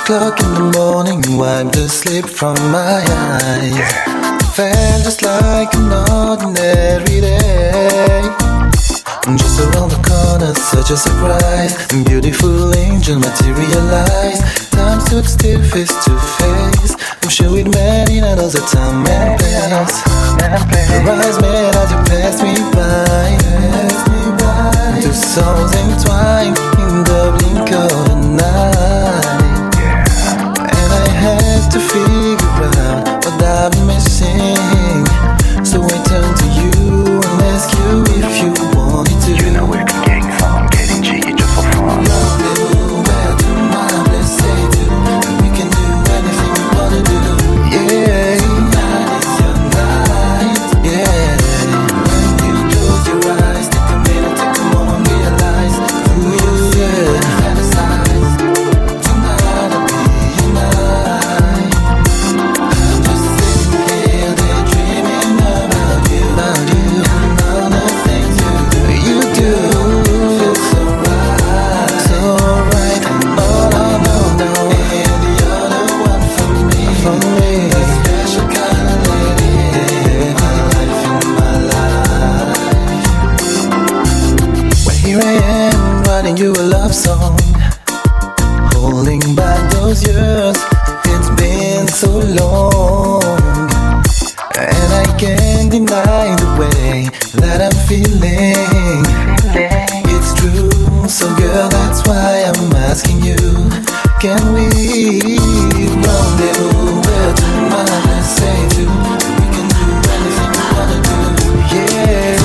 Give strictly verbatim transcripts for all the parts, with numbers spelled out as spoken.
o'clock in the morning, wipe the sleep from my eyes. Yeah. Felt just like an ordinary day. Just around the corner, such a surprise. Beautiful angel materialized. Time stood still, face to face. I'm sure we'd met in another time and place. Your eyes met as you passed me by. Two souls entwined in the blink of an eye. And I had to figure out what I've been missing. So I turned to you and asked you if you wanted to. You know we've been getting some, getting cheeky just for fun. Rendezvous, where do my let's say do. We can do anything we wanna do. Yeah, tonight is your night. Yeah, when you close your eyes, take a minute, take a moment, realize who you are. Fantasize. Tonight I'll be your night. I'm just sitting here, daydreaming about you, about you, and all the things you do. You do feel so right, so right. And all I know now, and the other one for me, for me. A special kind of lady in my life, in my life. Well, here I am, writing you a love song, holding back those years. It's been so long, and I can't deny the way that I'm feeling. It's true, so girl, that's why I'm asking you. Can we rendezvous? Where do my let's say to? We can do anything we wanna do. Yeah,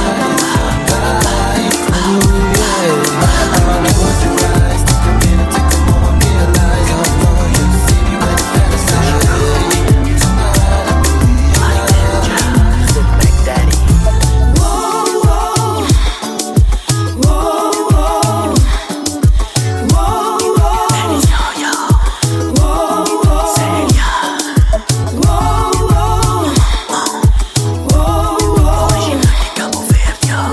ooh, yeah. Close your eyes, take a minute, take a moment, realize how long you see me when you fantasize. Tonight I'll be your Sit back, daddy. Whoa, whoa, whoa, whoa, whoa, whoa. Daddy's yo-yo. Whoa, whoa, Say yeah. whoa, whoa, whoa, whoa, Original de Cabo Verde, yo.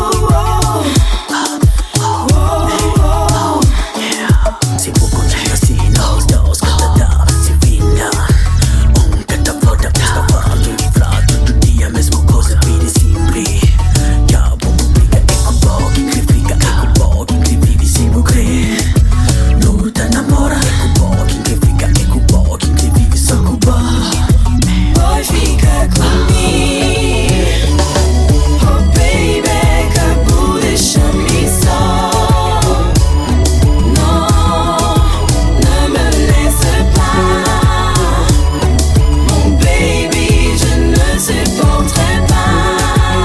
Si buco c'è si nos dos cada si vinda. Um canta foda sta parte di frato tutti a mesmo cosa vide simpli. Ya pubblica e con pochi critica e con pochi che vivi si bucre. Non ti innamora e con pochi che fica e con pochi che vivi so cuba. Poi fica comigo, oh baby, que vous deixa-me só. Non, ne me laisse pas, mon baby, je ne supporterai pas.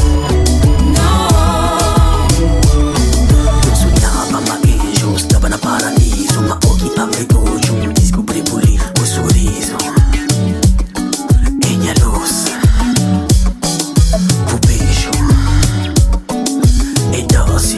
Non. Sognava ma io stava na paradiso, ma occhi aprivo giunti scoprivo lì un sorriso. E mia luz, o beijo e dosi.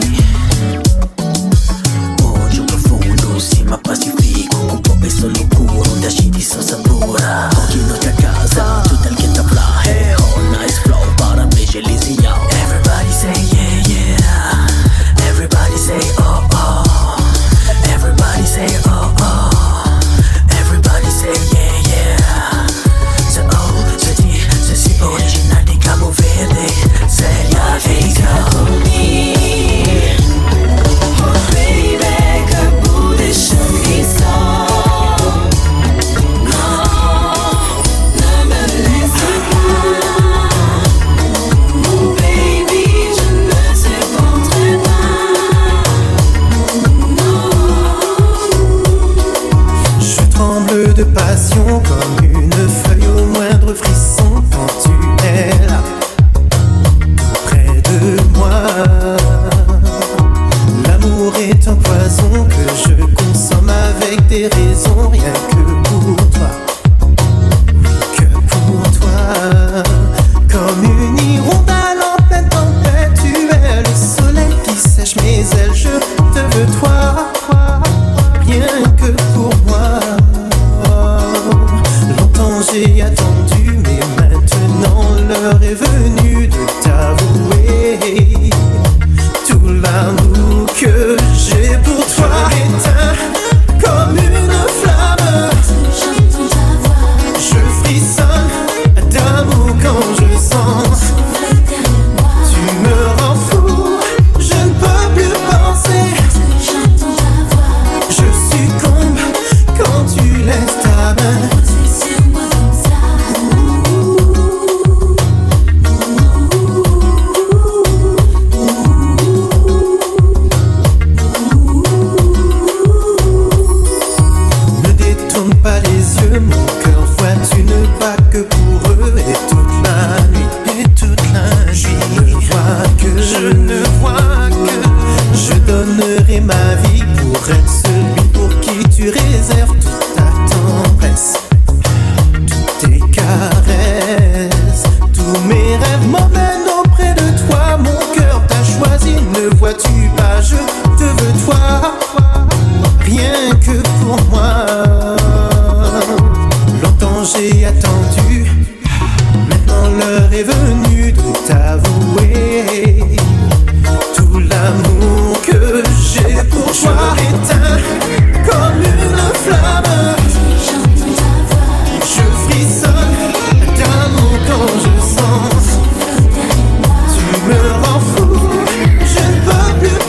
Odio profundo, sì ma pacifico, un po' e solo curo, da sciti so sabora. Occhi notte a casa, tutto il che da fly. Hey, all nice flow, para invece lisi yo. Everybody say yeah yeah, everybody say oh oh, everybody say oh oh, everybody say yeah yeah. Se oh, se ti, se si original di Cabo Verde, seria fica. Oh baby, que vous deixa-me só. Non, ne me laisse pas, mon baby, je ne supporterai pas. Non. Je tremble de passion comme une feuille au moindre frisson quand tu es là, près de moi. L'amour est un poison que je consomme avec des raisons, rien que pour toi. Oui, que pour toi. Comme une hirondelle en pleine tempête, tu es le soleil qui sèche mes ailes. Je te veux toi, rien que pour moi. Longtemps j'ai attendu, mais maintenant l'heure est venue de t'avouer tout l'amour que j'ai pour toi. Éteint comme une flamme. donnerai ma vie pour être celui pour qui tu réserves toute ta tendresse, toutes tes caresses. Tous mes rêves m'emmènent auprès de toi. Mon cœur t'a choisi, ne vois-tu pas? Je te veux toi, rien que pour moi. Longtemps j'ai attendu, maintenant l'heure est venue de t'avouer tout l'amour que j'ai pour toi. Je m'éteins comme une flamme, je frissonne d'amour quand je sens. Tu me rends fou, je ne peux plus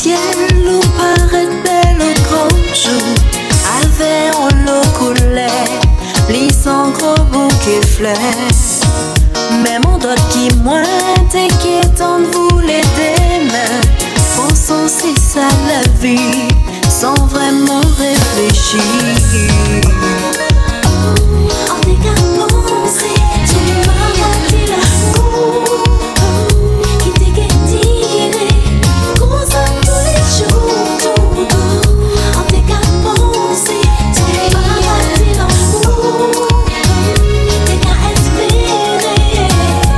ciel où paraît belle au grand jour, avait en l'eau coulait, plissant gros bouquet fleurs. Mais mon doigt qui mointe et qui est en voulait des mains, pensant c'est ça la vie, sans vraiment réfléchir. En décapant, c'est tu m'as dit l'amour qui t'est guettiré, qu'on s'aime tous les jours. En décapant, c'est tu m'as dit l'amour, t'es qu'à espérer.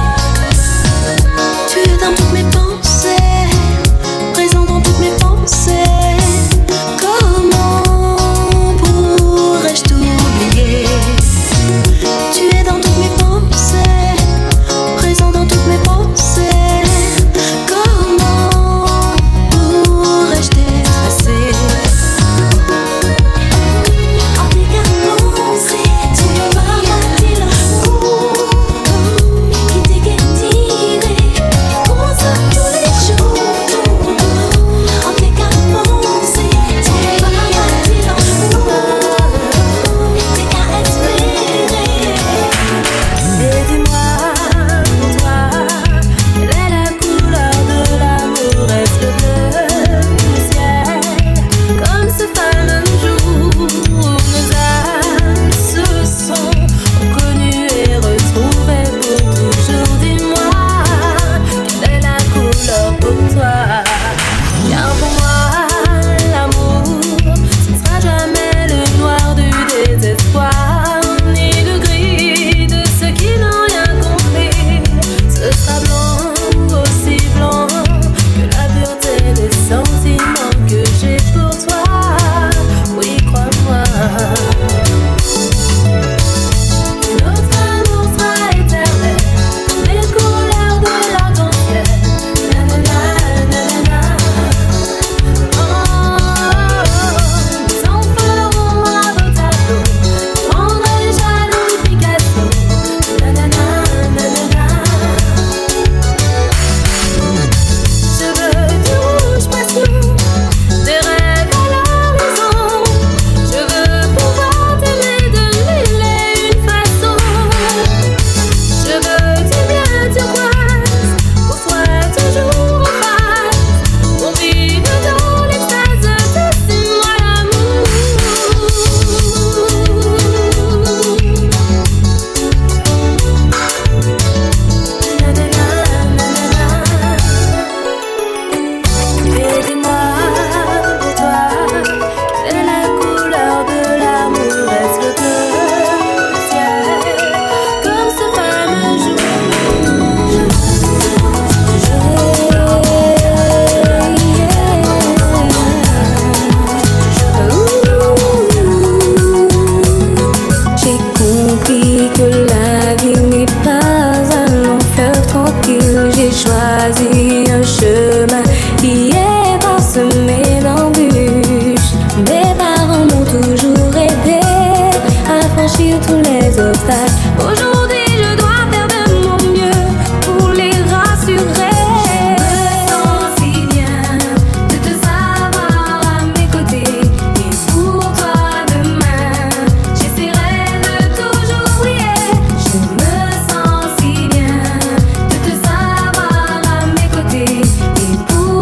Tu es dans toutes mes pensées, présent dans toutes mes pensées. Comment pourrais-je t'oublier? Tu es dans toutes mes pensées, présent dans toutes mes pensées. Comment pourrais-je t'effacer? En décapant, c'est tu m'as dit l'amour qui t'est guettiré, qu'on s'aime tous les jours. En décapant, c'est tu m'as dit l'amour, t'es qu'à espérer. Et dis-moi, pour toi, quelle est la couleur de l'amour? Est-ce le bleu du ciel, comme ce fameux jour où nos âmes se sont reconnues et retrouvées pour toujours? Dis-moi, quelle est la couleur pour toi? Car pour moi, l'amour, ce ne sera jamais le noir du désespoir, ni le gris de ceux qui n'ont rien compris. Ce sera blanc, aussi blanc que la pureté des sentiments que j'ai pour toi. Oui, crois-moi. Notre amour sera éternel, comme les couleurs de l'arc-en-ciel. Nanana, nanana. Oh, nous en ferons un beau tableau, prendrai les jaloux Picasso. Nanana, nanana. Je veux du rouge passion, des rêves à l'horizon. Je veux pouvoir t'aimer de mille et une façons. Je veux du bien turquoise, pour toi toujours en face, pour vivre dans l'extase de ces mois d'amour. Nanana, nanana. Et dis-moi, pour toi, quelle est la couleur de l'amour? Est-ce le bleu du ciel, comme ce fameux jour? J'ai compris que la vie n'est pas un long fleuve tranquille. J'ai choisi un chemin qui est parsemé d'embûches. Mes parents m'ont toujours aidé à franchir tous les obstacles. Aujourd'hui, je dois faire de mon mieux pour les rassurer. Je me sens si bien de te savoir à mes côtés. Et pour toi demain, j'essaierai de toujours briller. Je me sens si bien de te savoir à mes côtés. Et pour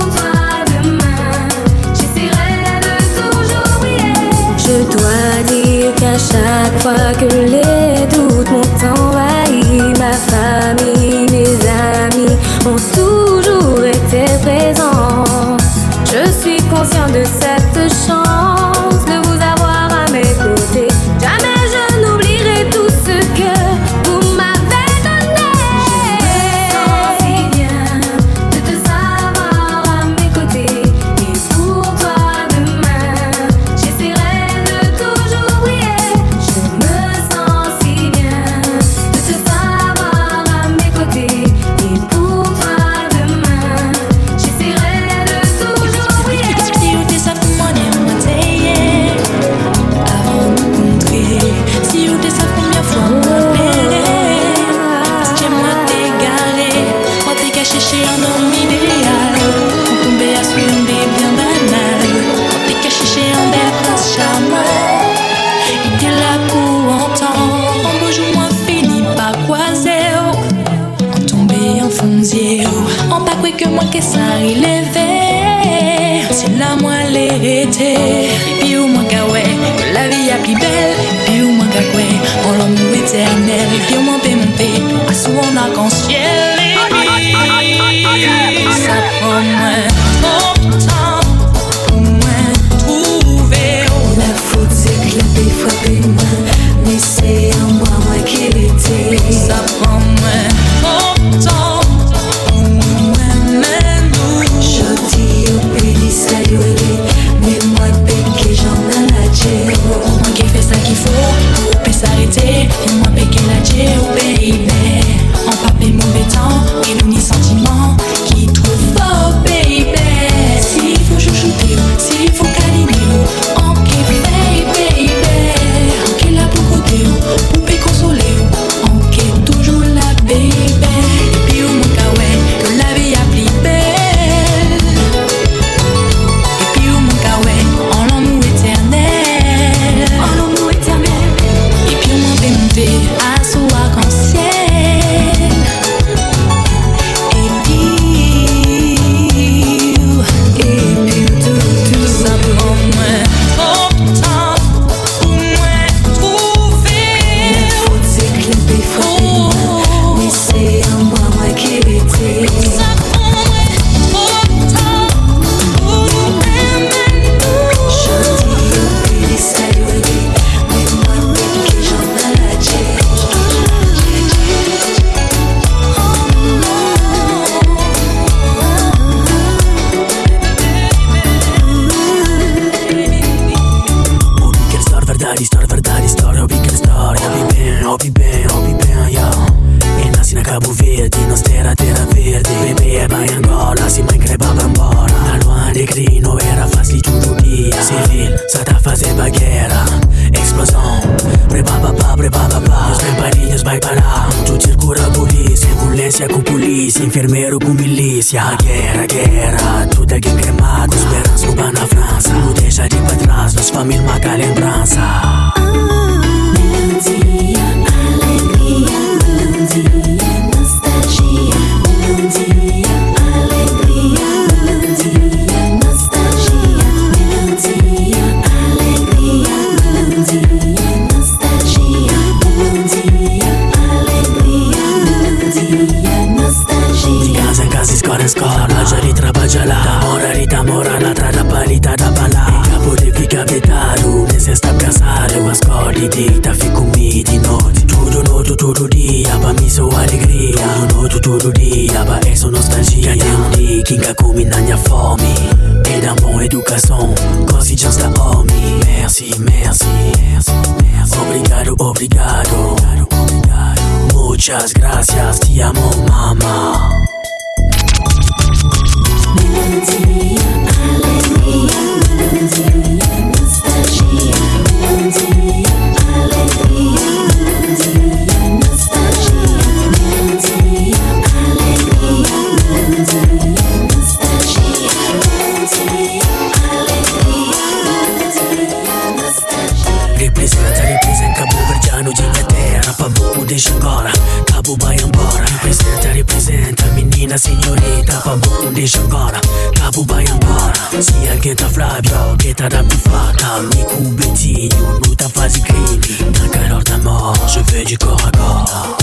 métier. On pas quoi que moi que ça relève. C'est là moi l'hérité. Puis au moins qu'à ouais, que la vie a plus belle. Puis au moins qu'à quoi, on l'amour éternel. Puis au moins peut monter à sous on arc-en-ciel. Ça prend moins trop de temps pour moi trouver. La faute c'est que la paix frappait moi, mais c'est en moi moi qui l'étais. Ça prend moins trop de temps pour moi même nous. Je dis au pays saluer, mais moi péché j'en ai la tête. Moi qui fait ça qu'il faut pour pas s'arrêter. Et moi péché la tête au pays. On pas paie mauvais temps et nous ni sentiments qui trouvent fort baby. S'il faut chouchouter, s'il faut câliner, on qui paye baby. On qui là pour côté, pour payer consoler, on qui est toujours là baby. Et puis au moins qu'à ouais, que la vie a plus belle. Et puis au moins qu'à ouais, en l'amour éternel. En l'amour éternel. Et puis au moins peut monter à sous arc-en-ciel. Infermeiro com milícia, guerra, guerra, tudo alguém cremado, esperança rouba na França, não deixa de ir pra trás, nossa família marca a lembrança. Melodia, alegria, melodia, nostalgia, melodia, alegria, melodia, nostalgia, melodia, alegria, melodia, nostalgia, melodia, alegria, melodia, nostalgia. De casa em casa, escola em escola, trabalha ali, trabalha lá, namora ali, namora lá, tra da palita da bala. Capo de fica vetado, nesse está casado, eu escolhi deita, fico comigo de noite. Tudo novo, todo dia, pra mim sou alegria. Tudo novo, todo dia, pra essa nostalgia. Tem um dia que ainda come na minha fome. E dá boa educação, così já está homem. Merci, merci, merci, merci. Obrigado, obrigado, obrigado. Muchas gracias, te amo, mama. Melodia, alegria, melodia, nostalgia, melodia, alegria, melodia, nostalgia, melodia, alegria, melodia, nostalgia, melodia, alegria, melodia, nostalgia. Representa, representa Cabo Verdeano de Inglaterra, pra bom deixa agora, Cabo vai embora. Representa, representa menina senhorita, pra bom deixa agora, Cabo vai embora. Se alguém tá Flávio, que tá da faca, amigo Betinho, luta faz crime. Na calor da morte, je veux du corps à corps.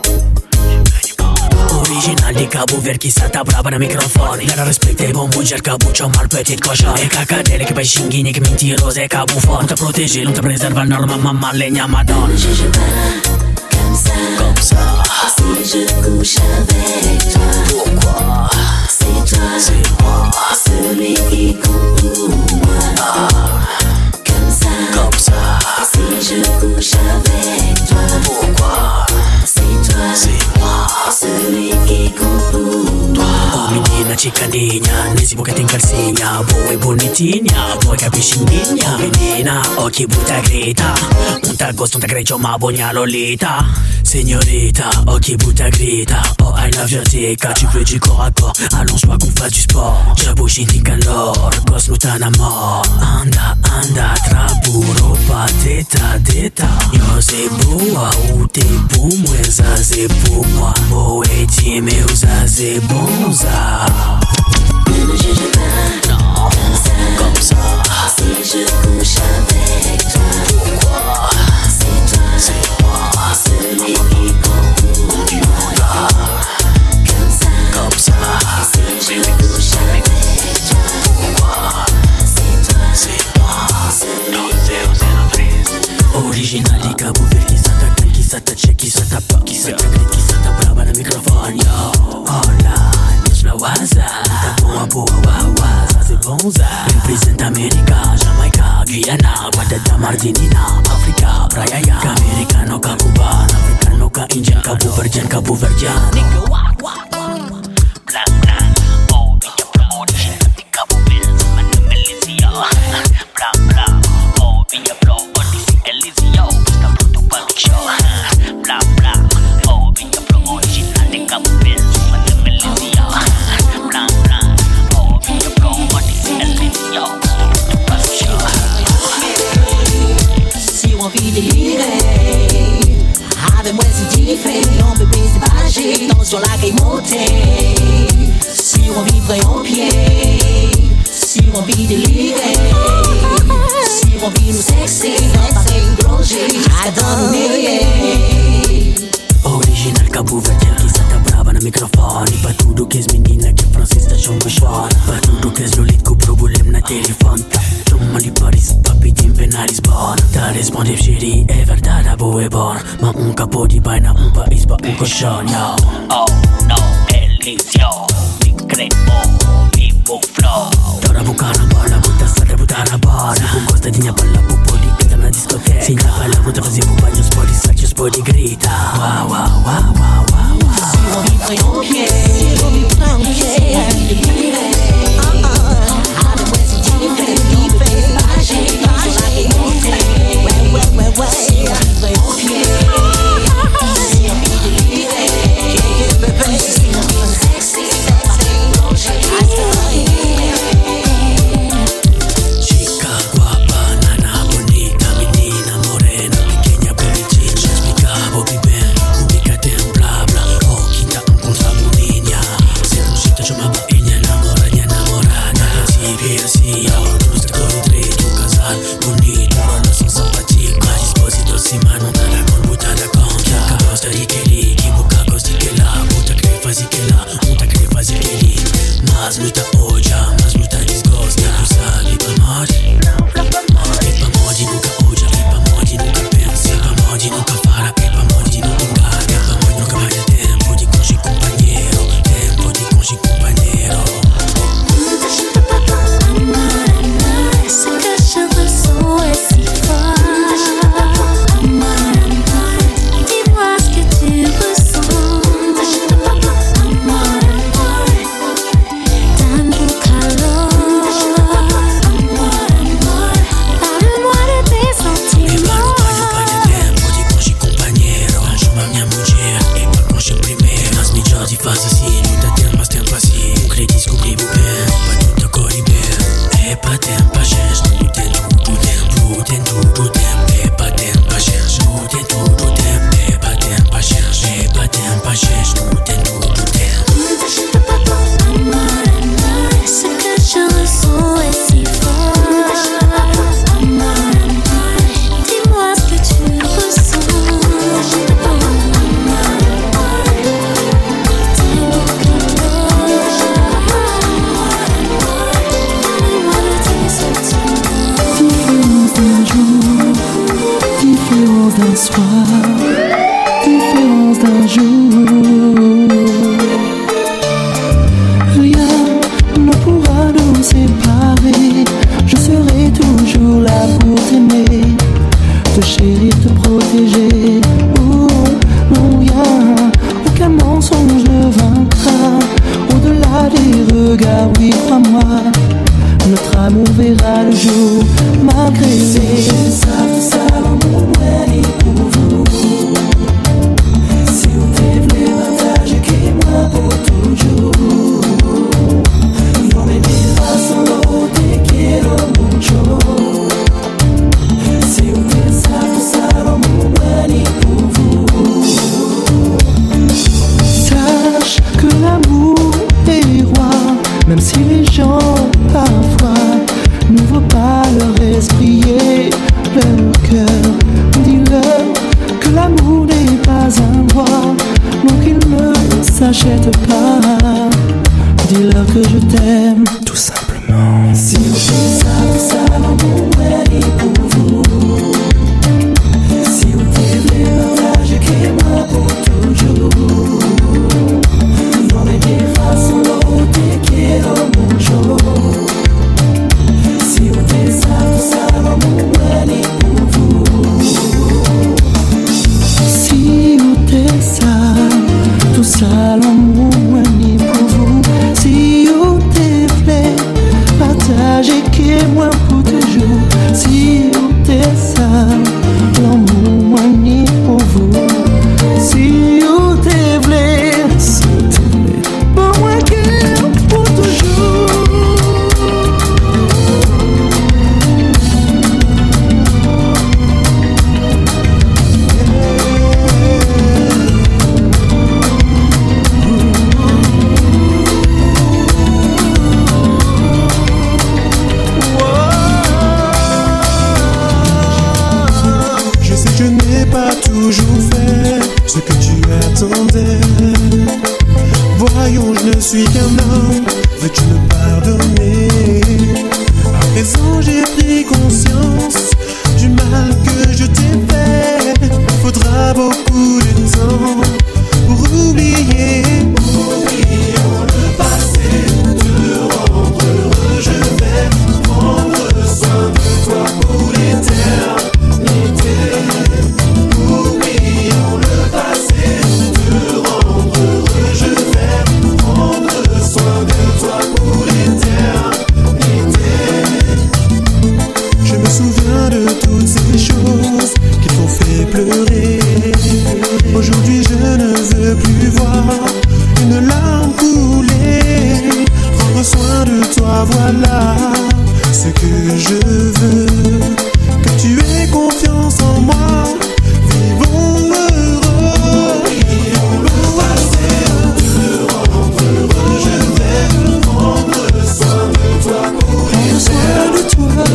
Original de Cabo Verde, que sata brava na microfone. Dar respect e bom mulher, Cabo c'ho mal petit cochon. E cacadele che baixinguini, che mentirose, Cabo fort. Non te protéger, non te préserve, norma, mamma, legna, madonna. Je je pas comme ça, Comme ça. si je couche avec toi. Pourquoi? C'est toi, C'est moi. celui qui compte pour moi. Comme ça, Comme ça. si je couche avec toi. Pourquoi? C'est toi, C'est moi. celui qui compte pour toi. Oh menina cicaninha, nesse boca tem calcinha. Boa e bonitinha, boa capiscinha. Menina, occhi butta grita. Un ta gosto, un ta grecio, ma bogna lolita. Signorita, occhi butta grita. Oh, I love your dick, tu veux du corps à corps. Allonge-toi qu'on fasse du sport. J'abouche in calor, gosto tan amor. Anda, anda, traburo, pateta, deta. Yo sei boa, o tempo, moeza, sei pour moi. Boa e time, usa, c'est bon ça. Ne me juge pas, Non, comme ça, comme ça. si je couche avec toi. Pourquoi? C'est toi, C'est moi, celui qui prend du monde. comme ça, Comme ça. si je couche avec toi. Pourquoi? C'est toi, C'est moi. celui Original di Cabo Verde, chi s'attacca, chi s'attacca, chi s'attappa, chi s'attacca, chi s'attappa al microfono, yo. Online, Dios la waza, da boa boa wawa, ça c'est bon ça. Represent America, Jamaica, Guyana, Guadada, Martinina, Africa, Brayaya, Americano, ka Cubano, Africano, ka Indian, Cabo Verdean, Cabo Verdean. Nigga, wah, wah, wah, blanc, blanc, oh, bitch, blanc, original di Cabo Verde, man, Malaysia, blanc, blanc, oh, bitch, blanc, Elisio, questa brutto paluccio. Bla bla, oh, vinga pro originale Cabo Verde, ma non me Elisio. Bla bla, oh, vinga pro Elisio, brutto paluccio. si on vit délirer, avec moi c'est différent, bébé c'est pas âgé, tension la game montée. Si on vivrait en pied, si on vit délirer, si on vit nous sexy, dans pareil plongé, jusqu'à dans nous Original Cabo Verdean, chi s'attappa al microfono. Pa tudo que es menina que francesa chon bashon. Pa tudo que es lolit cu problem na telefon. Chumma di Paris, papi din pena Lisbon. Ta responde shiri, e verdade boa e bon. Ma un capo di baina, un país pa un cochon, yo. Oh no, Elisio, mi creo, vivo flow. Tora bucana bola, butta strada, buttare a bola. Con costa di palla, pupo di che na discoteca. Si na palla, butta fazer un bagno, sport di saccio, sport di grita. Wow, wow, wow, wow, wow, wow. Si on vivrait en pied, si on vivrait en pied, avec moi c'est différent, bébé c'est pas âgé, tension la game montée. Ouais, ouais, ouais, ouais. Si on vivrait en pied, si on vit délirer, si on vit nous sexy, dans pareil plongé, Chica guapa, nana bonita, menina morena, pequeña bonitinha. Já explicava bem, ubicate em bla bla. Oh, quinta um contra boninha. Se não chita, chamava minha namorada, minha namorada. Assim, vê assim, ó, nos dois, três, do casal bonito, relação simpática. Mais disposito, cima, não tá na con, buta da con. Que gosta de querer, que boca gosta de lá. Buta querer fazer que lá, buta querer fazer que ali. Mas muita odia, mas muita desgosta. Tu sabe, pra morte. E pra morte nunca odia, e pra morte nunca pensa. E pra morte nunca fala, e pra morte nunca engana. E pra morte nunca perde tempo de conche companheiro. Tempo de conche companheiro. Ce que je ressens est si fort. Dis-moi ce que tu ressens. Donne-moi calor. Parle-moi de tes E sentiments. pra não perde tempo de conche companheiro. Chama minha mulher, e pra conche primeiro. Mas melhor de fazer assim, não dá tempo, mas tempo assim. Não querer descobrir o bem, pra tudo correr bem. É pra tempo a gente, não tem tudo tempo, tem tudo tempo. É pra tempo a gente, não tem tudo tempo. É pra tempo a gente, é pra tempo a gente, não tem tudo tempo. Ce que je ressens est si fort. Dis-moi ce que tu ressens. Parle-moi de tes sentiments. Différence d'un jour, différence d'un soir, différence d'un jour. Rien ne pourra nous séparer. Je serai toujours là pour t'aimer, te chérir, te protéger. Oh, non, rien, aucun mensonge ne vaincra. Au-delà des regards, oui, crois-moi, notre amour verra le jour. Malgré les savent ça, l'amour est pour vous. Si on t'aime, partage qui moi pour toujours. No me dejas solo, te quiero mucho. Si on t'aime, savent ça, l'amour est pour vous. Sache que l'amour suis qu'un homme, veux-tu me pardonner? À présent j'ai pris conscience du mal que je t'ai fait. Il faudra beaucoup de temps pour oublier. Oublions le passé, te rendre heureux. Je vais prendre soin de toi pour l'éternité. Oublions le passé, te rendre heureux. Je vais prendre soin de toi pour l'éternité. Je me souviens de toutes ces choses qui t'ont fait pleurer. Aujourd'hui je ne veux plus voir une larme couler. Prendre soin de toi, voilà ce que je veux. Que tu aies confiance en moi, vivons heureux. Oublions le passé, te rendre heureux. Je vais prendre soin de toi pour l'éternité.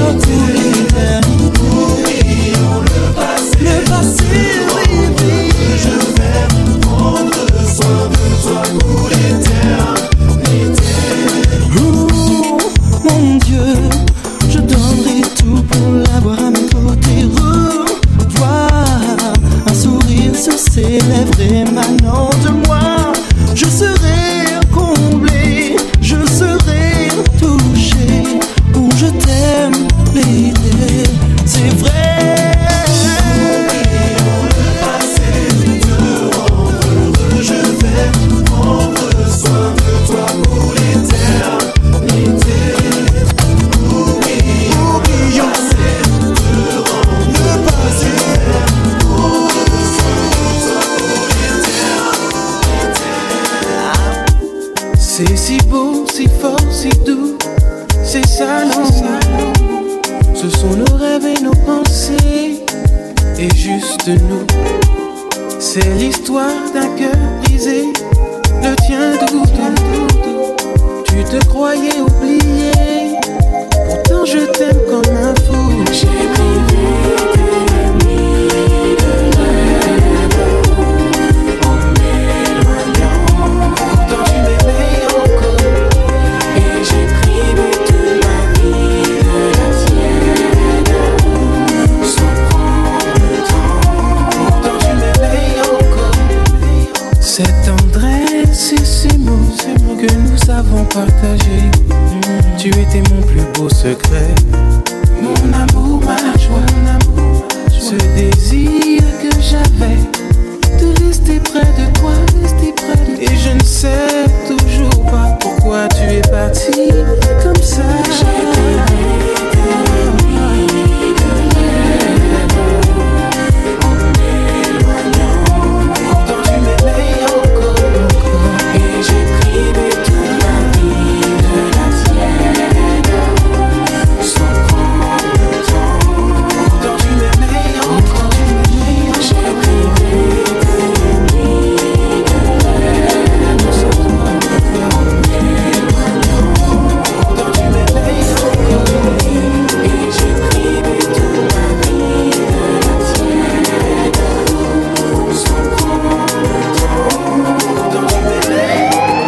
Oublions le passé, le passé, oui, oui. Je vais prendre soin de toi pour l'éternité. Oh, mon Dieu, je donnerai tout pour l'avoir à mes côtés. Revoir un sourire sur ses lèvres émanant de moi. Je serai comblé, je serai touché. Oh, je t'aime, l'idée, c'est vrai. Oublions le passé, te rendre heureux. Je vais prendre soin de toi pour l'éternité. Oublions le passé, te rendre le passé. Prendre soin de toi pour l'éternité. C'est si beau, si fort, si doux. C'est ça, non, ce sont nos rêves et nos pensées, et juste nous. C'est l'histoire d'un cœur brisé, le tien doux, doux, doux. Tu te croyais oublié, pourtant je t'aime comme un fou. J'ai privé tes nuits de rêve en m'éloignant, pourtant tu m'aimais encore. Et j'ai privé toute ma vie de la tienne, sans prendre le temps, pourtant tu m'aimais encore. Cette tendresse et ces mots que nous avons partagés, tu étais mon plus beau secret, mon amour, ma joie, mon amour, ce désir que j'avais de rester près de toi, rester près de toi. Et je ne sais toujours pas pourquoi tu es parti comme ça. J'ai privé tes nuits de rêve en m'éloignant, pourtant tu m'aimais encore. Et j'ai privé toute ma vie de la tienne, sans prendre le temps, pourtant tu m'aimais encore. J'ai privé tes nuits de rêve en m'éloignant, pourtant tu m'aimais encore. Et j'ai privé toute ma vie de la tienne, sans prendre le temps, pourtant tu m'aimais.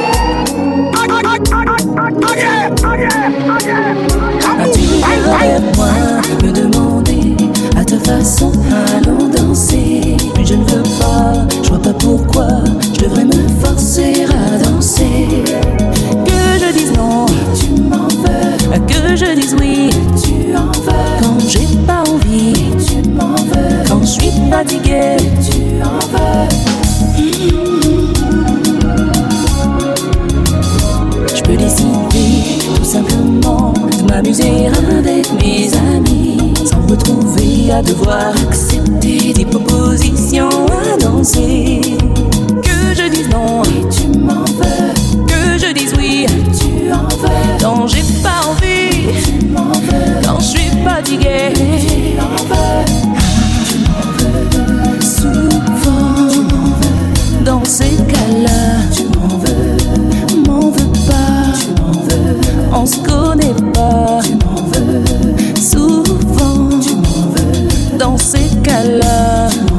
As-tu vers moi, me demander à ta façon, allons danser. Mais je ne veux pas, je vois pas pourquoi je devrais me forcer à danser. Que je dise non, tu m'en veux. Que je dise oui, tu en veux. Quand j'ai pas envie, tu m'en veux. Quand je suis fatiguée, tu en veux. Je peux décider tout simplement de m'amuser avec mes amis, sans me retrouver à devoir accepter des propositions à danser. Que je dise non, et tu m'en veux. Que je dise oui, tu en veux. Quand j'ai pas envie, tu m'en veux. Quand je suis fatiguée, tu en veux. Tu m'en veux. Souvent, tu m'en veux. Dans ces cas-là, tu m'en veux. M'en veux pas, tu m'en veux. On se connaît pas, tu m'en veux. Souvent, tu m'en veux. Dans ces cas-là, tu m'en veux.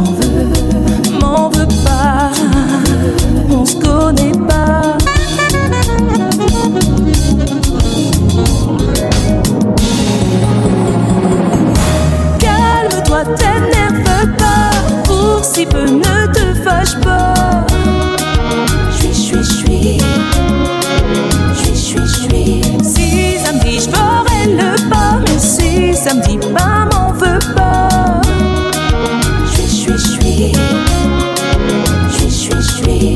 ça me dit pas m'en veux pas. Je suis, je suis, je suis, je suis.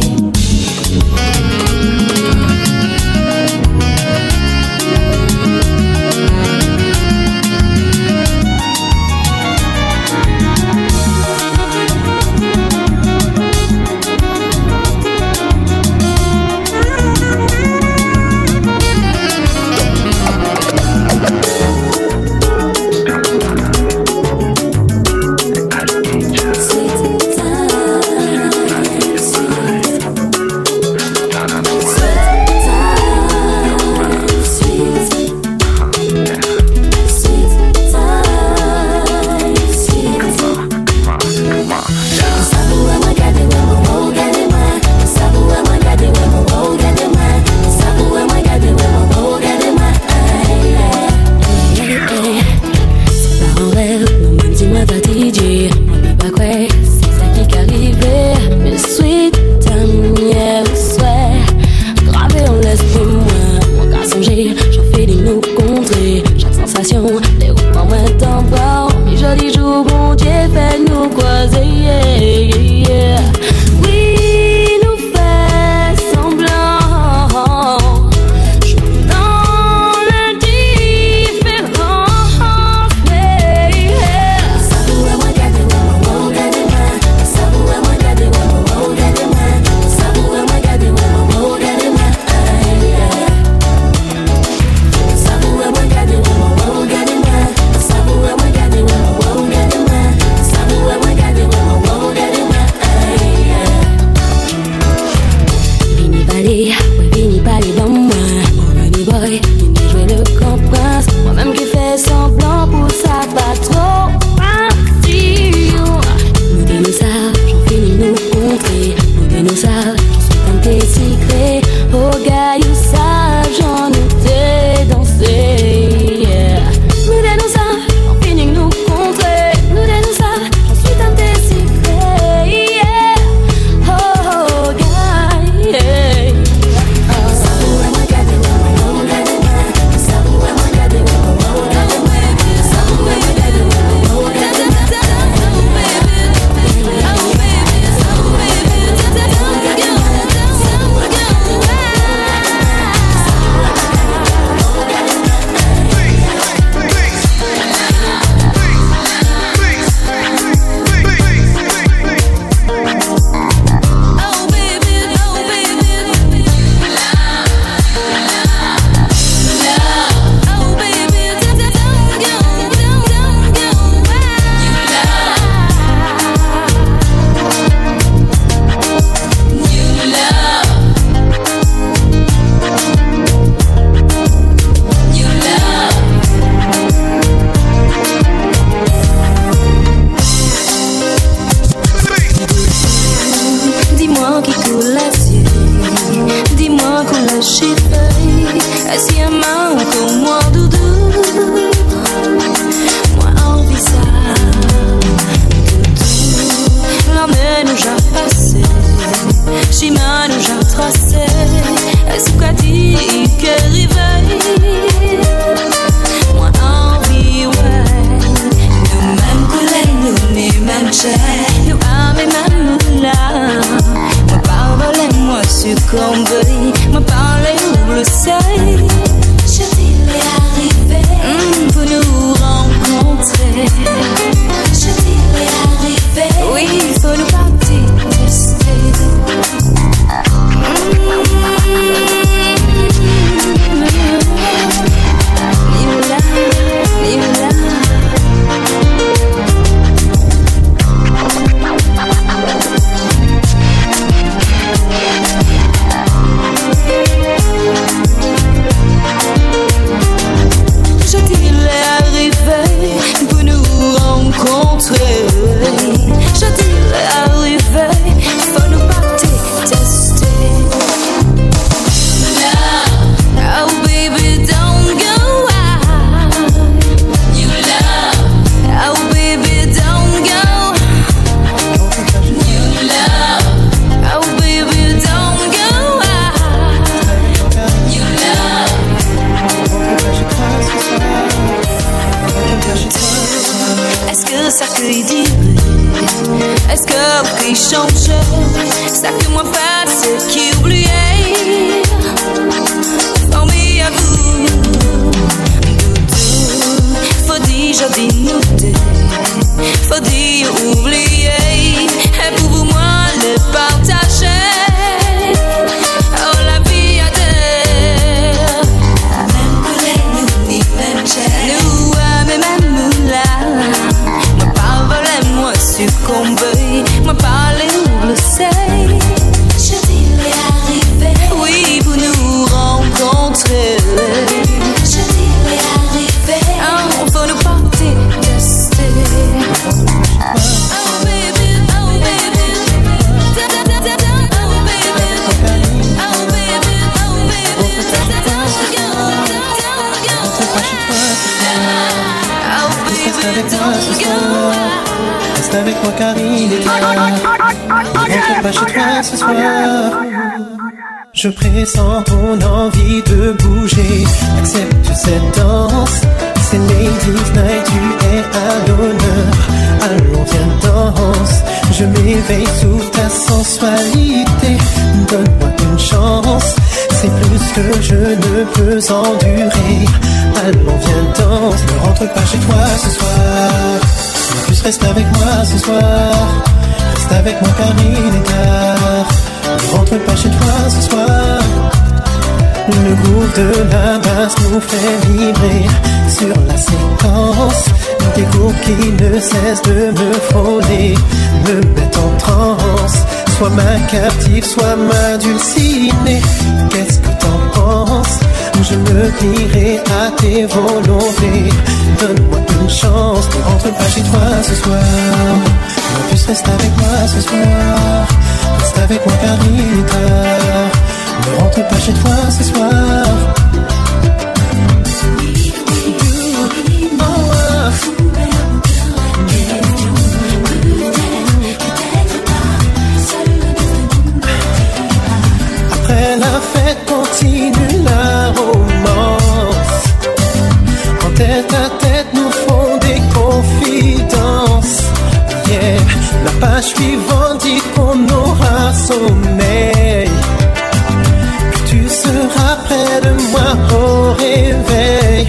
Mm-hmm. change. Ça que moi pas ce qui oubliait. Formé à vous, doudou. Faut dire, je dis nous deux. Faut dire oublier. Et pour moi le partager. Oh la vie à deux. Même pour les nous, ni même chez nous, même même là. Moi pas voler, moi succomber. Moi pas les le sait. Je dis les arriver. Oui, pour nous rencontrer. Je dis les arriver. Oh, faut nous porter de stay. Oh baby, oh baby. Da da da da da. Oh baby, oh baby, oh baby. Da da da da. Reste avec moi ce soir. Reste avec moi car il est là. Ne rentre pas chez toi ce soir. Je pressens ton envie de bouger. Accepte cette danse. C'est Ladies Night, tu es à l'honneur. Allons viens danse. Je m'éveille sous ta sensualité. Donne-moi une chance. C'est plus que je ne peux endurer. Allons viens danse. Ne rentre pas chez toi ce soir. En plus reste avec moi ce soir. Reste avec moi car il est tard. Ne rentre pas chez toi ce soir. Le groove de la basse nous fait vibrer sur la séquence. Des groupes qui ne cessent de me frôler, me mettent en transe. Sois ma captive, sois ma dulcinée. Qu'est-ce que t'en penses? Je me plierai à tes volontés. Donne-moi une chance, ne rentre pas chez toi ce soir. En plus reste avec moi ce soir. Reste avec moi car il est tard. Ne rentre pas chez toi ce soir. Après la fête continue la romance. En tête à tête nous font des confidences. Yeah, la page suivante dit qu'on aura sommeil. Tu seras près de moi au réveil.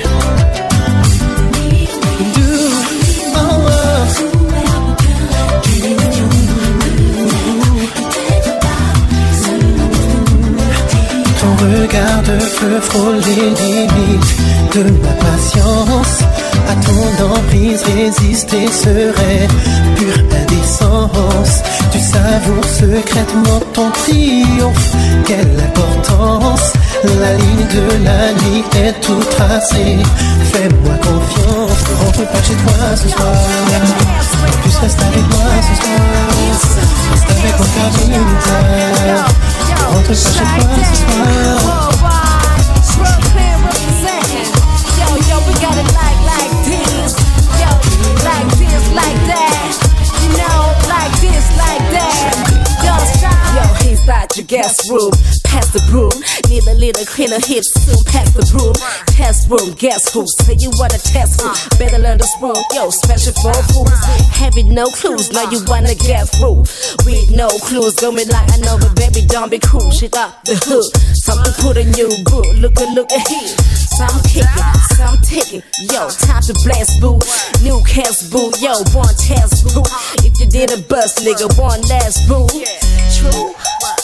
Ton regard de feu frôle les limites de ma patience. À ton emprise résister serait pure indécence. Tu savoures secrètement ton triomphe. Quelle importance! La ligne de la nuit est tout tracée. Fais-moi confiance, ne rentre pas chez toi ce soir. En plus reste avec moi ce soir. Reste avec moi car il est tard. Ne rentre pas chez toi ce soir. Yo, yo, we got it like, like this. Yo, like this, like that. You know, like this, like that. Yo, stop. Yo, he's not your guest room. Pass the broom. Need a little cleaner hips soon. Pass the broom. Test room. Guess who? Say you wanna test who? Better learn the spoon. Yo, special for fools. Having no clues. Now you wanna get through. With no clues. Going like I know, but baby, don't be cool. Shit up the hood. Something put in you good. Look at, look at here. Some kicking, some ticking. Yo, time to blast, boo. New cast, boo. Yo, one test, boo. If you did a bust, nigga, one last, boo. True.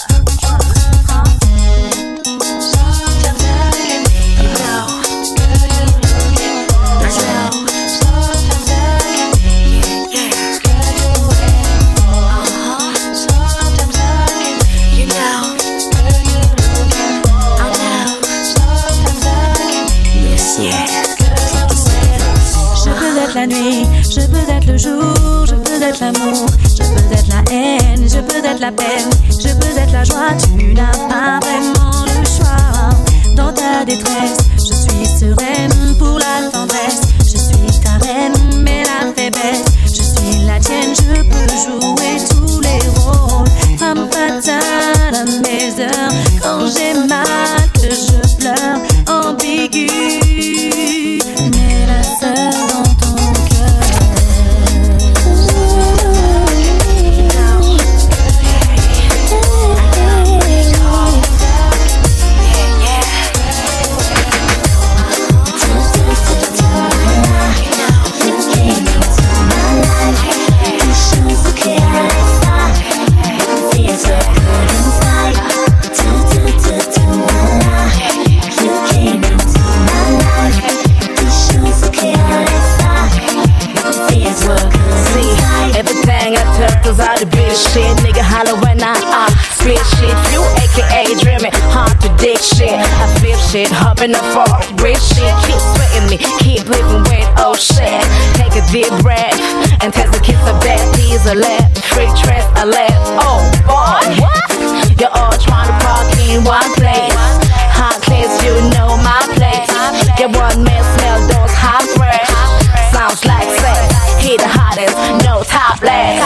La nuit, je peux être le jour, je peux être l'amour, je peux être la haine, je peux être la peine, je peux être la joie, tu n'as pas vraiment le choix. Dans ta détresse, je suis sereine pour la tendresse, je suis ta reine, mais la faiblesse, je suis la tienne, je peux jouer tous les rôles. Femme fatale à mes heures, quand j'ai mal, que je pleure, ambiguë, mais la seule dans ton cœur. shit, hop in the fourth, rich shit, keep sweating me, keep living with, oh shit. Take a deep breath and test the kiss of that. These are left, free trust a left. Oh boy, what? You're all trying to park in one place. Hot place, you know my place. Your one man smell those hot breath. Sounds like sex, he the hottest, no top last.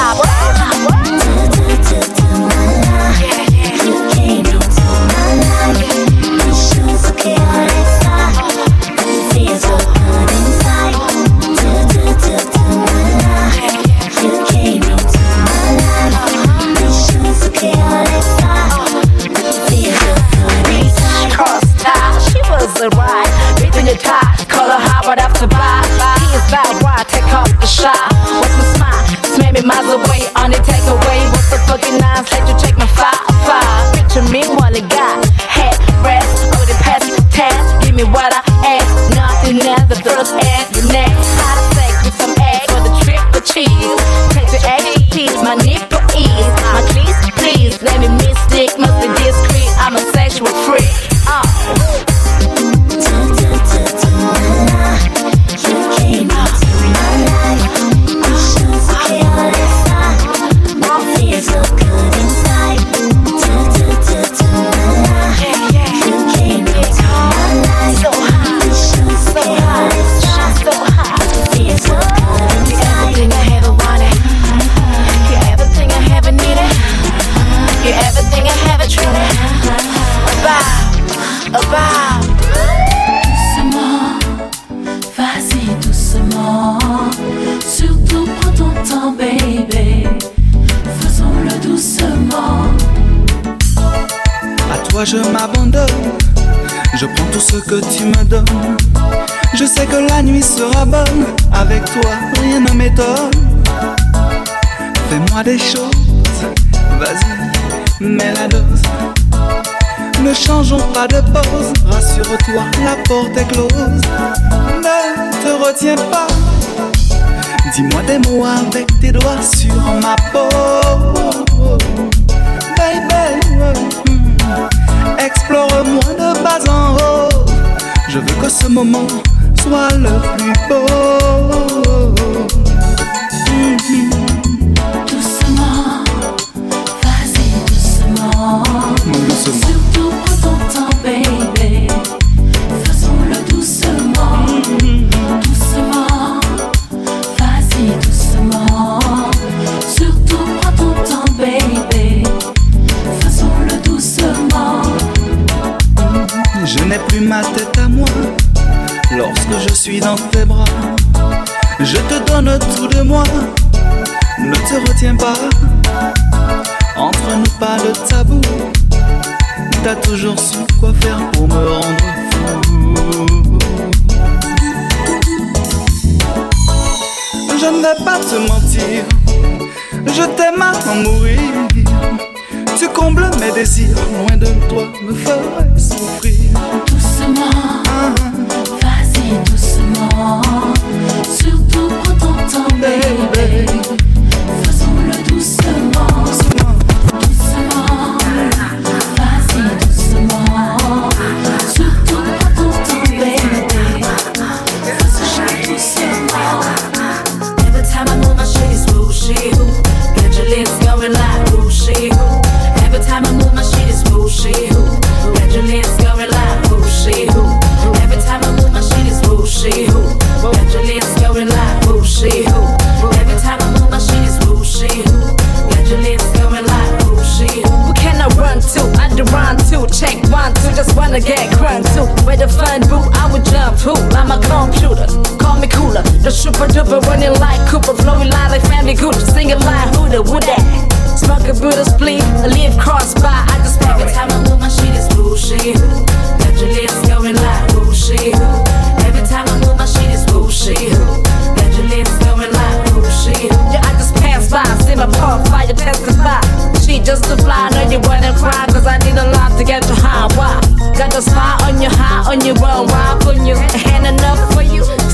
Right, reaching your tie, call her hot, but after buy. He is bad, why take off the shot? What's my smile? Slam me miles away on the takeaway. What's the fucking nines? Let you check my five, five. Picture me while it got head rest. Oh, the past test, give me what I ask. Nothing else, the first and the next. Hot sex with some egg for the triple cheese. Take the egg piece, my nipple ease. My please, please, let me mystic, must be discreet. I'm a sexual freak. Oh. Je m'abandonne, je prends tout ce que tu me donnes. Je sais que la nuit sera bonne, avec toi rien ne m'étonne. Fais-moi des choses, vas-y, mets la dose. Ne changeons pas de pause, rassure-toi, la porte est close. Ne te retiens pas, dis-moi des mots avec tes doigts sur ma peau. Baby, explore-moi de bas en haut. Je veux que ce moment soit le plus beau. Mm-hmm. Doucement, vas-y doucement. Doucement. Surtout prends ton temps, baby. Faisons-le doucement. Mm-hmm. Doucement, vas-y doucement. Surtout prends ton temps, baby. Faisons-le doucement. Je n'ai plus ma tête à moi lorsque je suis dans tes bras. Je te donne tout de moi, ne te retiens pas. Entre nous pas de tabou, t'as toujours su quoi faire pour me rendre fou. Je ne vais pas te mentir, je t'aime à en mourir. Tu combles mes désirs, loin de toi me ferais souffrir. Doucement, ah. Vas-y doucement. Surtout prends ton temps, baby. Faisons-le doucement. Doucement, doucement. Vas-y doucement. Surtout prends ton temps, baby. Faisons-le doucement. Every time I move my shit is whooshy who. Get your lips going like whooshy who. Every time I move my shit is whooshy who. Get your lips going like whooshy who. Every time I move my shit is whooshy who. Get your lips going like whooshy who. Every time I move my shit is whooshy who. Get your lips going like whooshy who. Who can I run to? I do run to. Check one, two, just wanna get crunk to. Where the fun boo, I would jump to. I'm a computer, call me cooler. The super duper running like Cooper, flowing line like Family Gucci, singing like who the would that? Smoke a Buddha split, a leaf cross by. I just every time I move my shit is whooshy who. Got your lips going like whooshy who. Every time I move my shit is whooshy who. Got your lips going like whooshy who. Yeah, I just pass by, see my pump fire testify. She just a fly, know you wanna cry, cause I need a lot to get you high. Why? Got a spot on you high, on your run, why putting your hand enough for you?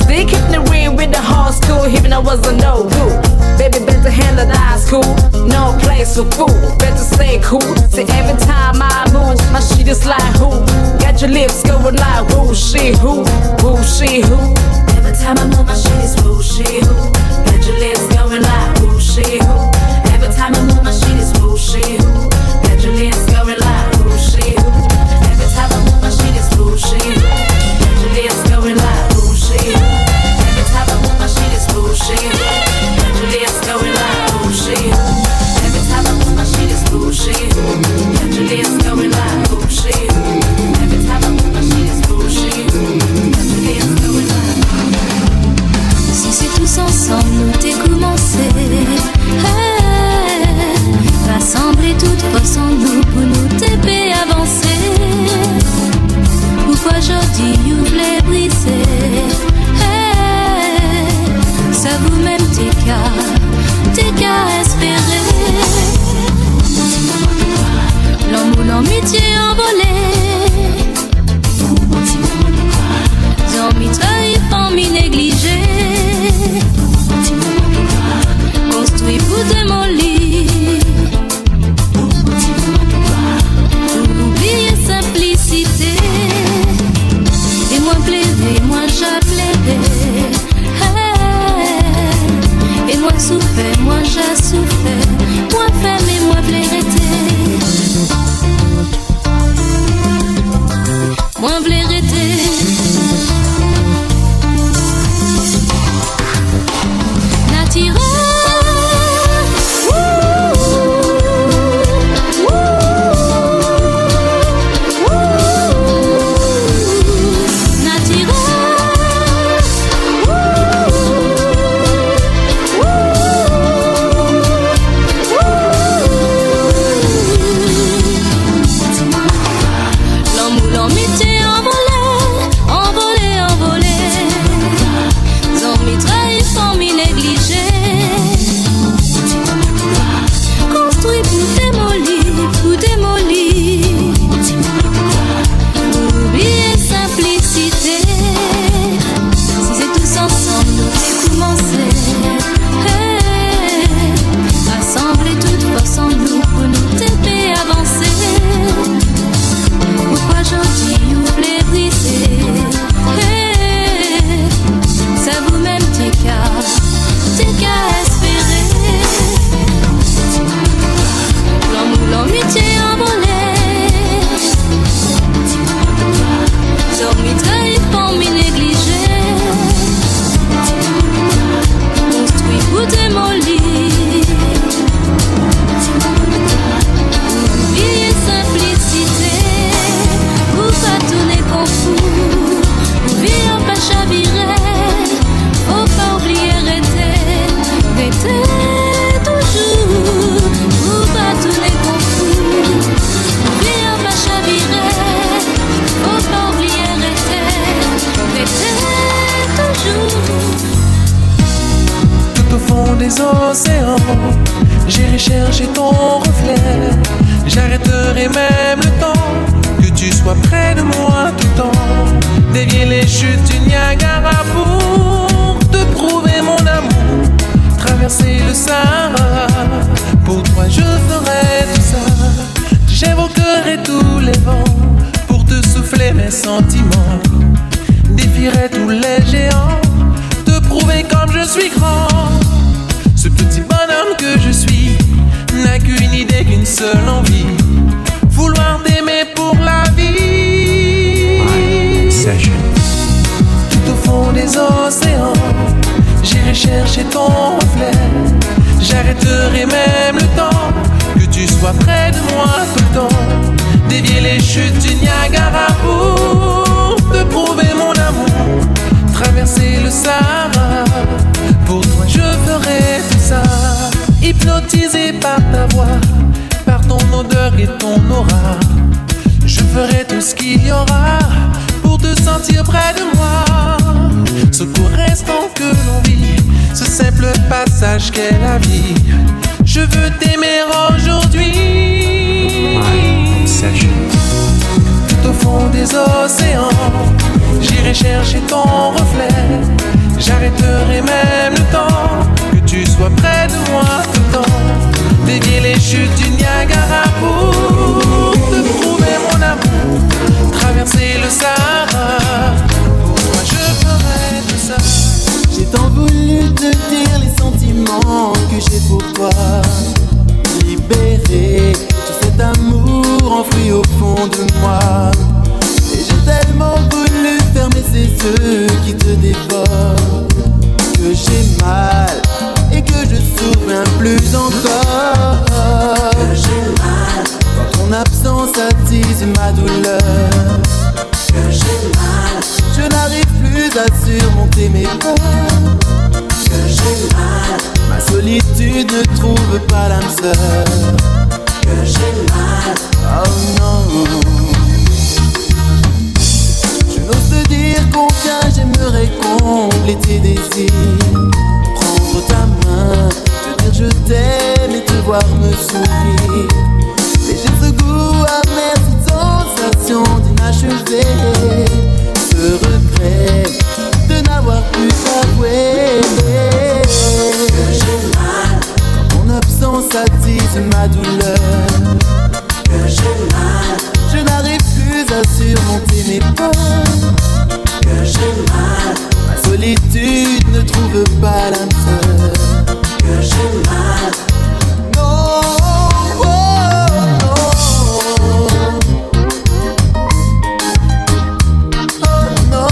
They kept me real with the hard school, even I was a no good. Baby, better handle the high school, no place for fool. Better stay cool. See, every time I move, my shit is like who? Got your lips going like who, she, who, who, she, who. Every time I move, my shit is who, she, who. Got your lips going like who, she, who. Every time I move, my shit is who, she, who. Got your lips going like who, she, who. Every time I move, my shit is who, she, who. Got your lips going like who, she, who. Every time I move, my shit is who, she, who. Got your lips going like who, she, who. Every time I move, my shit is who, she, who. Got your lips going like who, she, who. Every time I move, my shit is who, she, who. Got your lips going like who. Si c'est tous ensemble nous t'es commencé, hey, rassembler toute force en nous pour nous t'aider avancer. Pourquoi aujourd'hui vous voulez briser, hey, ça vous même t'es qu'à, t'es qu'à espérer. L'amour, l'amitié envolée, Zombie trahi, famille négligée, construit pour démolir, pour oublier simplicité. Et moi plaider, moi j'appellerai, hey, et moi souffert, moi j'ai souffert, moi femme et moi plaireté, moi plaireté. J'irai chercher ton reflet. J'arrêterai même le temps que tu sois près de moi tout le temps. Dévier les chutes du Niagara pour te prouver mon amour. Traverser le Sahara, pour toi je ferai tout ça. J'évoquerai tous les vents pour te souffler mes sentiments. Défierai tous les géants, te prouver comme je suis grand. Ce petit bonhomme que je suis n'a qu'une idée, qu'une seule envie, vouloir t'aimer pour la vie. Tout au fond des océans, j'irai chercher ton reflet. J'arrêterai même le temps que tu sois près de moi tout le temps. Dévier les chutes du Niagara pour te prouver mon amour. Traverser le Sahara, pour toi je ferai tout ça. Hypnotisé par ta voix, par ton odeur et ton aura, je ferai tout ce qu'il y aura pour te sentir près de moi. Ce court instant que l'on vit, ce simple passage qu'est la vie, je veux t'aimer aujourd'hui. Tout au fond des océans, j'irai chercher ton reflet. J'arrêterai même le temps, que tu sois près de moi tout le temps. Dévier les chutes du Niagara pour te prouver mon amour. Traverser le Sahara, pour toi je ferai tout ça. J'ai tant voulu te dire les sentiments que j'ai pour toi. Libérer tout cet amour enfoui au fond de moi. Et j'ai tellement voulu fermer ces yeux qui te dévorent, que j'ai mal et que je souviens plus encore. Que j'ai mal quand ton absence attise ma douleur. Que j'ai mal, je n'arrive plus à surmonter mes peurs. Que j'ai mal, ma solitude ne trouve pas l'âme sœur. Que j'ai mal, oh non. Je n'ose te dire combien j'aimerais combler tes désirs. Prendre ta main, te dire je t'aime et te voir me sourire. Mais j'ai ce goût amer, cette sensation d'inachevé, ce regret de n'avoir pu t'avouer. Que j'ai mal quand ton absence attise ma douleur. Que j'ai mal, je n'arrive plus à surmonter mes peurs. Que j'ai mal, ma solitude ne trouve pas l'âme sœur. Que j'ai mal, non, oh, non. Oh non.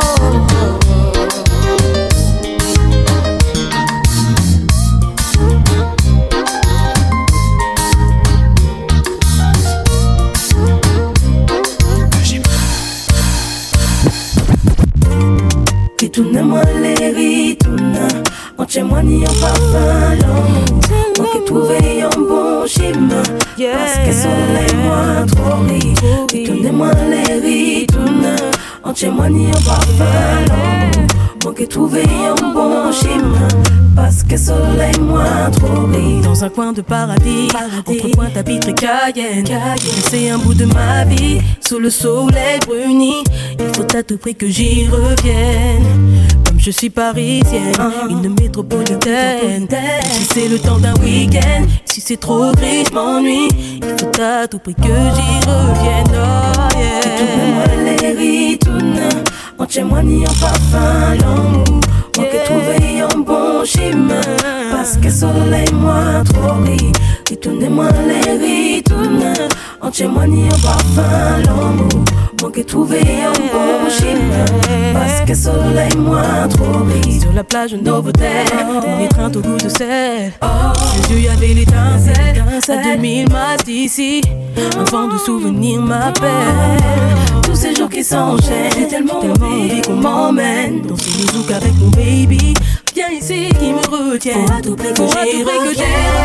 Ritourne-moi les ritourne, entièrement ni en parfum l'amour. Moi qui trouvais un bon chemin, parce que soleil moi trop ri. Ritourne-moi les ritourne, entièrement ni en parfum l'amour. Moi qui trouvais un bon chemin, parce que soleil moi trop ri. Dans un coin de paradis, paradis. Entre Pointe-à-Pitre et Cayenne, Cayenne. C'est un bout de ma vie, sous le soleil bruni. Il faut à tout prix que j'y revienne. Comme je suis parisienne, une métropolitaine. Si c'est le temps d'un week-end, si c'est trop gris, je m'ennuie. Il faut à tout prix que j'y revienne. Oh yeah. Ritourne-moi les ritourne, entièrement ni en parfum l'amour. Moi qui trouvais un bon chemin, parce que soleil moi trop ri. Ritournez-moi les ritourne, entièrement ni en parfum l'amour. Moi qui trouvais un bon chemin, parce que soleil moi trop ri. Sur la plage Novotel, l'étreinte au goût de sel. Ses yeux y'avait l'étincelle, à deux mille miles d'ici. Un vent de souvenirs m'appelle. Tous ces jours qui s'enchaînent, j'ai tellement, tellement envie qu'on m'emmène danser le zouk avec mon baby. Viens ici qui me retienne. Faut à tout prix que j'y revienne.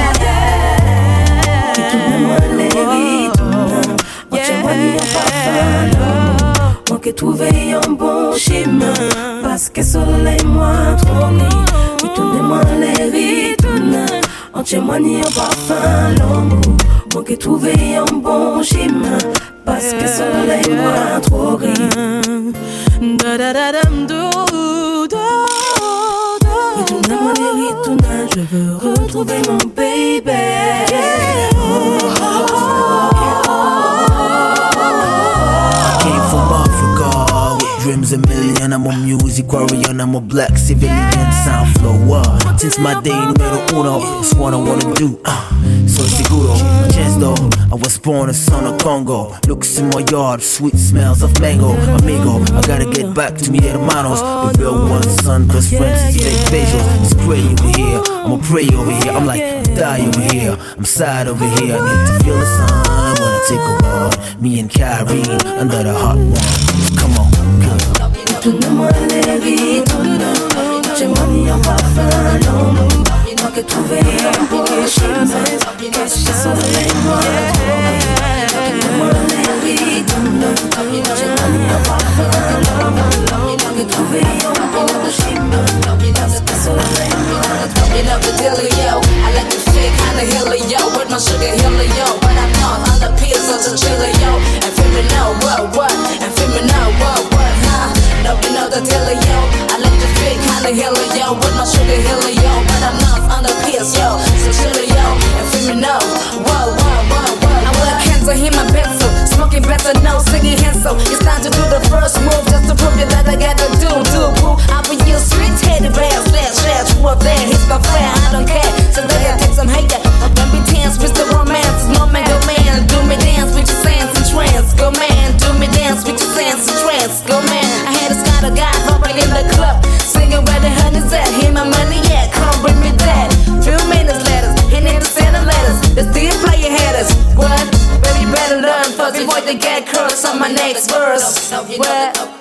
Ritourne-moi les ritourne, entièrement ni en parfum l'amour. Moi qui trouvais un bon chemin, parce que soleil moi trop ri. Ritournez-moi les ritourne, entièrement ni en parfum l'amour. Moi qui trouvais un bon chemin, parce que soleil moi trop ri. Ritourne-moi les ritourne, je veux retrouver mon baby. I came from Africa with dreams a million. I'm a music warrior, I'm a black civilian. Sound flow up since my day numero uno. It's what I wanna do. Uh, so seguro, chance though. I was born a son of Congo. Looks in my yard, sweet smells of mango. Amigo, I gotta get back to mi hermanos. The real one, son, cause friends is fake facial. It's pray over here, I'ma pray over here. I'm like, die over here, I'm sad over here. I need to feel the sun when I take a walk. Me and Kyrene under the hot one. Come on, girl. Ritourne-moi les ritourne, entièrement ni en parfum l'amour. Moi qui trouvais un bon chemin, parce que soleil moi trop ri. Ritourne-moi les ritourne, entièrement ni en parfum l'amour. Moi qui trouvais un bon chemin, parce que soleil moi trop ri. You know the dealio, I like to fit kinda helio with my sugar helio, but I'm not on the pills of the chilio. And feel me now, what what? And feel me now, what what? Huh? No, you know the dealio, I like to fit kinda helio.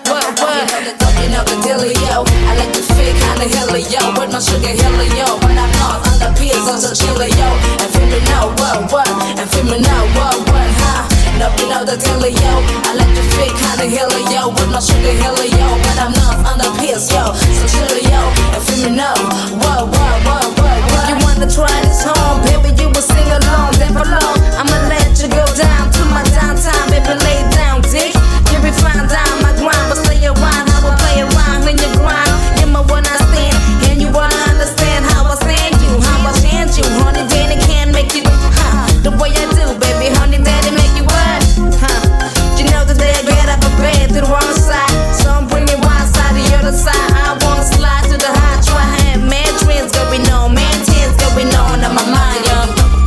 what, what? You know the dealio. I like the fake kinda helio with my sugar helio. When I'm lost on the pills, I'm so chillio. And feel me now, what, what? And feel me now, what, what, huh? No, you know the dealio. I like the fake kinda helio with my sugar helio. When I'm lost on the pills, yo, so chillio. And feel me now, what, what, what, what, what? You wanna try this home, baby? You will sing along, then below. I'ma let you go down to my downtime, baby, lay down, dick. You be fine down my grind, but stay around. I will play around when you grind. You're my one I stand, and you wanna understand how I stand you, how I stand you. Honey, daddy can't make you, huh? The way I do, baby, honey, daddy make you what, huh? You know the day I get up a bed to the wrong side, so I'm bringing one side to the other side. I wanna slide to the high, try have mad dreams going on, man tears going on in my mind, yo.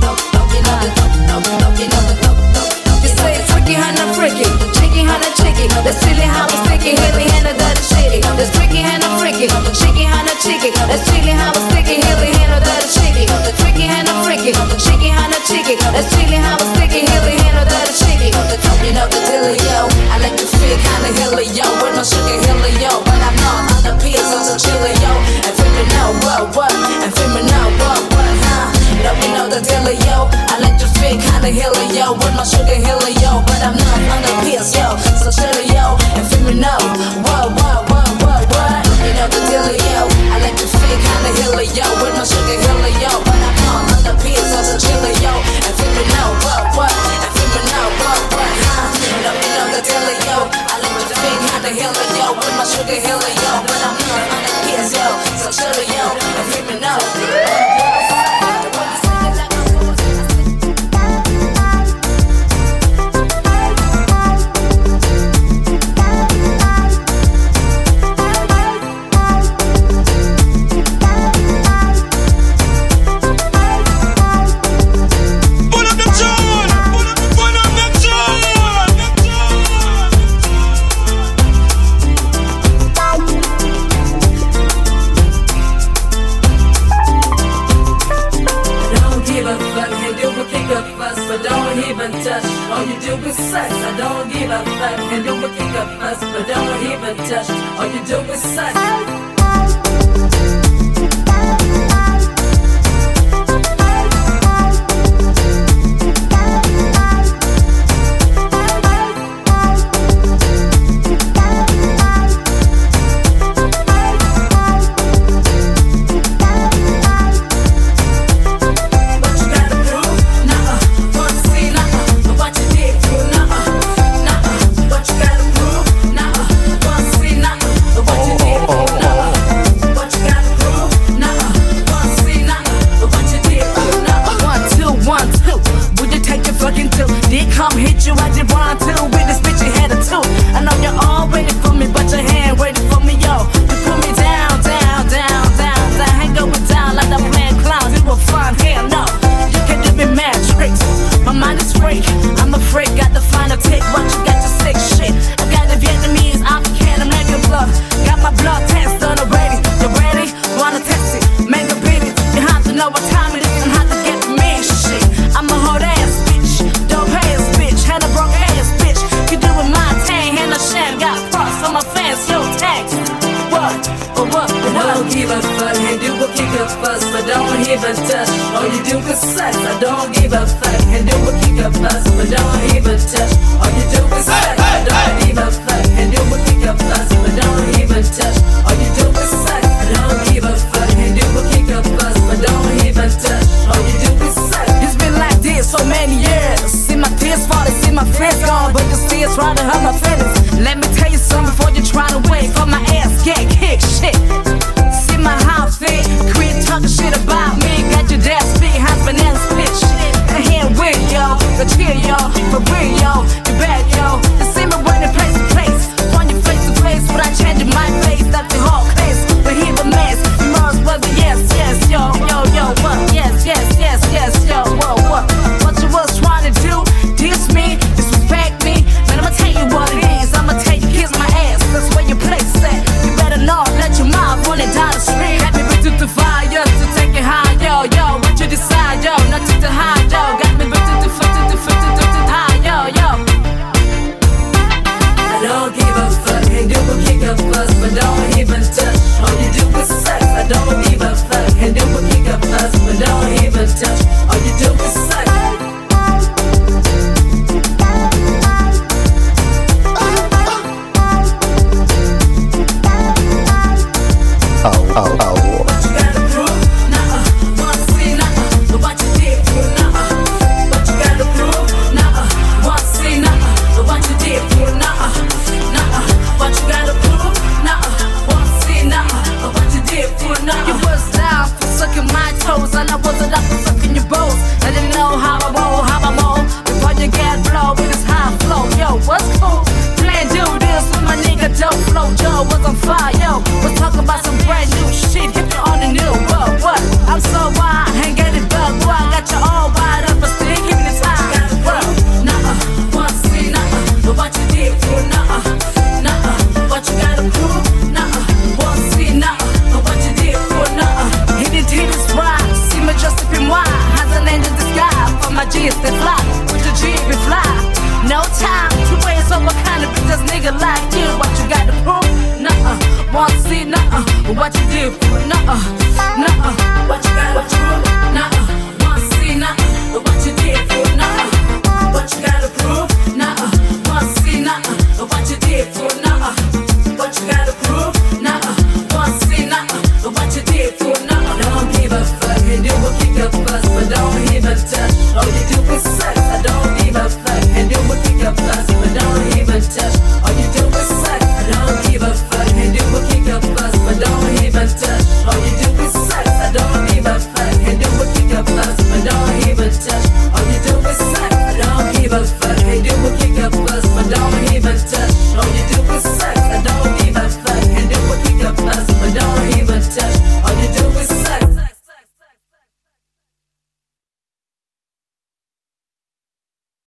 You say it's tricky, honey, freaky, chicky, honey, chicky. That's chilly, how it's sticky, hilly, hand of dirty shitty. That's tricky, honey, freaky, chicky, honey, chicky. That's chilly, how it's sticky, hilly, hand of dirty shitty. The tricky, honey, freaky, chicky, honey, chicky. That's chilly, how it's sticky, hilly, hand of dirty shitty. You know the dealio. I like the fit, kinda helio, with my sugar helio. When I'm not on the pills, I'm so chillio. And feel me now, what, what? And feel me now, what, what, huh? No, you know the dealio. I like the fit, kinda helio, with my sugar helio. But I'm not on the pills, yo, so chillio. And feel me now, what, what, what, what, what? You know the dealio. I like the fit, kinda helio, with my sugar helio. But I'm not on the pills, I'm so chillio. And feel me now, what, what? And feel me now, what, what, huh? No, you know the dealio. I like the fit, kinda helio, with my sugar helio. But I'm not on the pills, yo, so chillio. And feel me now. All you do is sex, I don't give a fuck. And do a kick up fuss, but don't even touch. All you do is sex. Don't give a fuck and do a fuss, but don't even touch. All you do is sex, I don't give a fuck. And do a kick a fuss, but don't even touch. All you do is sex. Oh, oh, oh. What you gotta prove? Nuh-uh. Wanna see? Nuh-uh. But what you did for? Nuh-uh. What you gotta prove? Nuh-uh. Wanna see? Nuh-uh. But what you did for? Nuh-uh. Nuh-uh. What you gotta prove? Nuh-uh. Wanna see? Nuh-uh. But what you did for? Nuh-uh. You was down for sucking my toes, and I wasn't up for sucking your balls. I didn't know how I roll, how I roll. Before you get blow with this high flow, yo, what's cool? Plan do this with my nigga Dope Flow. Joe was on fire, yo. Was talking about some brand new shit, hit you on the new. What, what? I'm so wild, ain't get it bug. Boy, I got you all wide up, but still give me the time. What? Nuh-uh, wanna see, nuh-uh. But what you did for, nuh-uh, nuh-uh. What you gotta prove, nuh-uh. Wanna see, nuh-uh. But what you did for, nuh-uh. Hit it, hit it, right. See me just up in wine. Has a land in the sky. For my G's, they fly. With the G, we fly. No time to waste on what kind of bitch nigga like you. What you gotta prove, nuh-uh. Wanna see, nuh-uh. But what you did for, nuh-uh, nuh-uh.